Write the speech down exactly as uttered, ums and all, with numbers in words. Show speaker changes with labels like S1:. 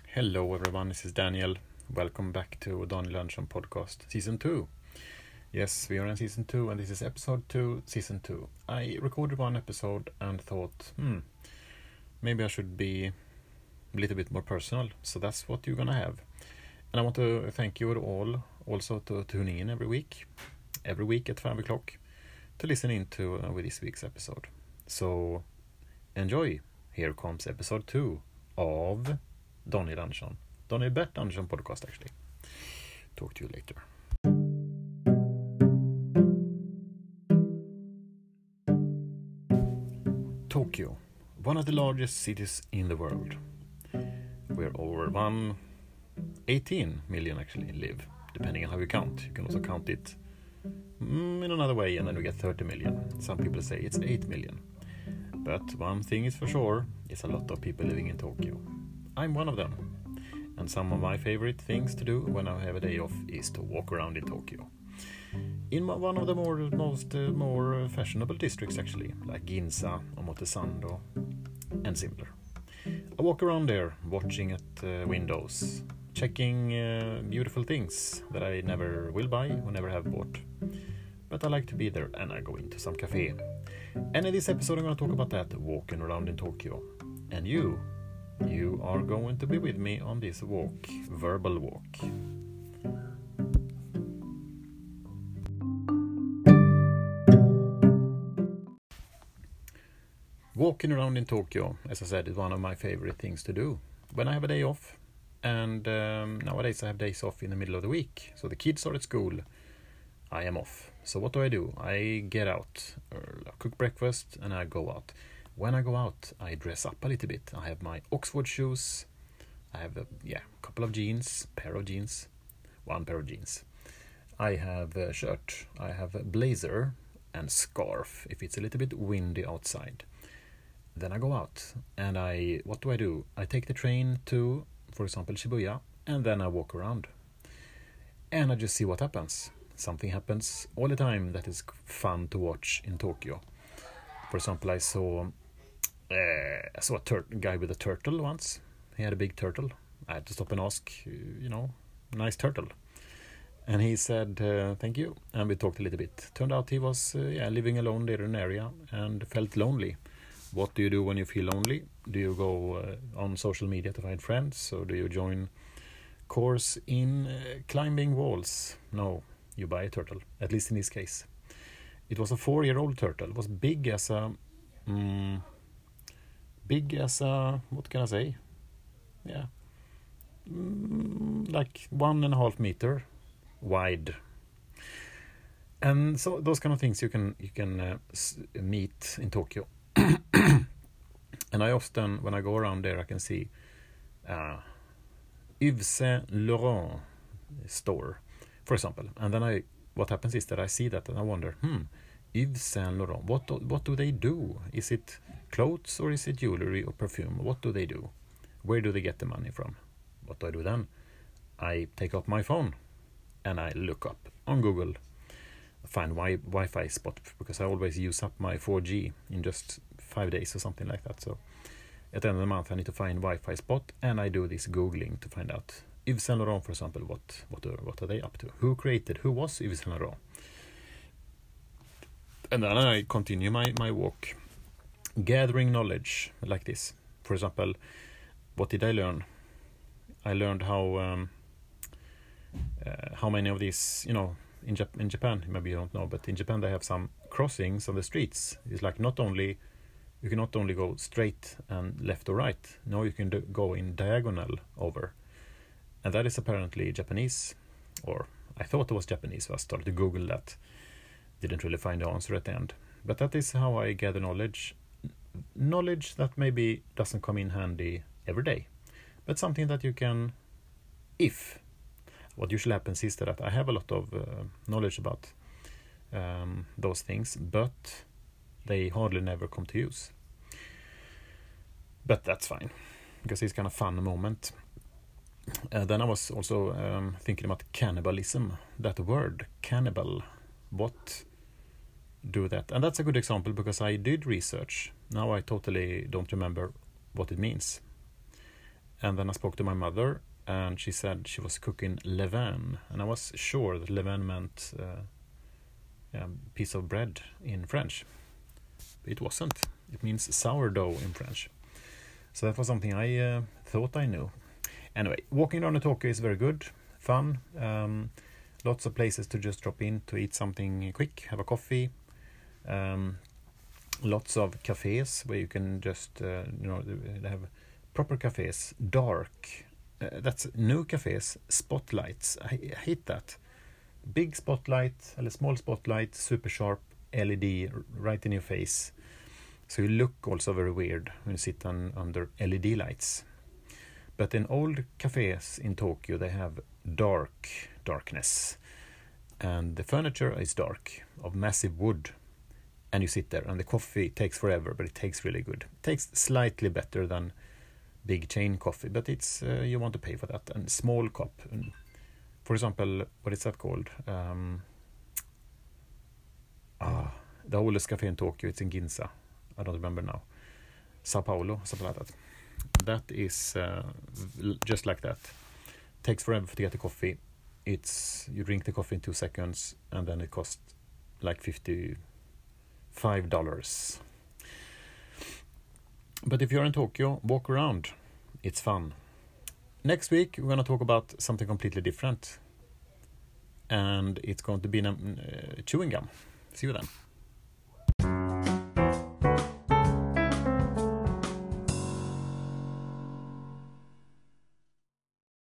S1: Hello everyone, this is Daniel. Welcome back to Daniel Andersson Podcast Season two. Yes, we are in Season two and this is Episode two, Season two. I recorded one episode and thought, hmm, maybe I should be a little bit more personal. So that's what you're gonna have. And I want to thank you all also to tuning in every week, every week at five o'clock to listen in to uh, with this week's episode. So enjoy. Here comes Episode two of Daniel Andersson. Daniel Bert Andersson Podcast actually. Talk to you later. Tokyo, one of the largest cities in the world, where over one eighteen million actually live, depending on how you count. You can also count it mm, in another way and then you get thirty million. Some people say it's eight million. But one thing is for sure, it's a lot of people living in Tokyo. I'm one of them. And some of my favorite things to do when I have a day off is to walk around in Tokyo. In one of the more most uh, more fashionable districts actually, like Ginza, Omotesando, and similar. I walk around there, watching at uh, windows, checking uh, beautiful things that I never will buy or never have bought. But I like to be there and I go into some cafe. And in this episode I'm going to talk about that, walking around in Tokyo. And you, you are going to be with me on this walk, verbal walk. Walking around in Tokyo, as I said, is one of my favorite things to do when I have a day off. And um, nowadays I have days off in the middle of the week. So the kids are at school, I am off. So what do I do? I get out, uh, cook breakfast, and I go out. When I go out, I dress up a little bit. I have my Oxford shoes. I have a yeah, couple of jeans, pair of jeans, one pair of jeans. I have a shirt. I have a blazer and scarf if it's a little bit windy outside. Then I go out and I, what do I do? I take the train to, for example, Shibuya, and then I walk around. And I just see what happens. Something happens all the time that is fun to watch in Tokyo. For example, I saw uh, I saw a tur- guy with a turtle once. He had a big turtle. I had to stop and ask, you know, nice turtle. And he said, uh, thank you. And we talked a little bit. Turned out he was uh, yeah, living alone there in an area and felt lonely. What do you do when you feel lonely? Do you go uh, on social media to find friends? Or do you join course in uh, climbing walls? No, you buy a turtle, at least in this case. It was a four-year-old turtle. It was big as a... Mm, big as a... What can I say? Yeah. Mm, like one and a half meter wide. And so those kind of things you can you can uh, s- meet in Tokyo. And I often, when I go around there, I can see uh, Yves Saint Laurent store, for example. And then I... What happens is that I see that and I wonder, hmm, Yves Saint Laurent, what do, what do they do? Is it clothes or is it jewelry or perfume? What do they do? Where do they get the money from? What do I do then? I take out my phone and I look up on Google, find wi- Wi-Fi spot, because I always use up my four G in just five days or something like that. So at the end of the month I need to find Wi-Fi spot and I do this Googling to find out Yves Saint Laurent, for example, what what are, what are they up to? Who created? Who was Yves Saint Laurent? And then I continue my, my walk, gathering knowledge like this. For example, what did I learn? I learned how um, uh, how many of these, you know, in, Jap- in Japan, maybe you don't know, but in Japan they have some crossings of the streets. It's like not only, you can not only go straight and left or right. No, you can do, go in diagonal over. And that is apparently Japanese, or I thought it was Japanese, so I started to Google that. Didn't really find the answer at the end. But that is how I gather knowledge. Knowledge that maybe doesn't come in handy every day, but something that you can, if. What usually happens is that I have a lot of uh, knowledge about um, those things, but they hardly never come to use. But that's fine, because it's kind of fun moment. Uh, then I was also um, thinking about cannibalism, that word, cannibal. What do that? And that's a good example because I did research. Now I totally don't remember what it means. And then I spoke to my mother, and she said she was cooking levain, and I was sure that levain meant uh, yeah, piece of bread in French. But it wasn't. It means sourdough in French. So that was something I uh, thought I knew. Anyway, walking around Tokyo is very good, fun. Um, lots of places to just drop in to eat something quick, have a coffee. Um, lots of cafes where you can just, uh, you know, they have proper cafes, dark. Uh, that's new cafes, spotlights. I, I hate that. Big spotlight, or small spotlight, super sharp L E D right in your face. So you look also very weird when you sit on, under L E D lights. But in old cafes in Tokyo, they have dark darkness. And the furniture is dark, of massive wood. And you sit there, and the coffee takes forever, but it tastes really good. It tastes slightly better than big chain coffee, but it's uh, you want to pay for that. And small cup. And for example, what is that called? Um, ah, the oldest cafe in Tokyo, it's in Ginza. I don't remember now. Sao Paulo, something like that. That is uh, just like that. Takes forever to get the coffee. It's you drink the coffee in two seconds, and then it costs like fifty-five dollars. But if you're in Tokyo, walk around. It's fun. Next week, we're going to talk about something completely different. And it's going to be uh, chewing gum. See you then.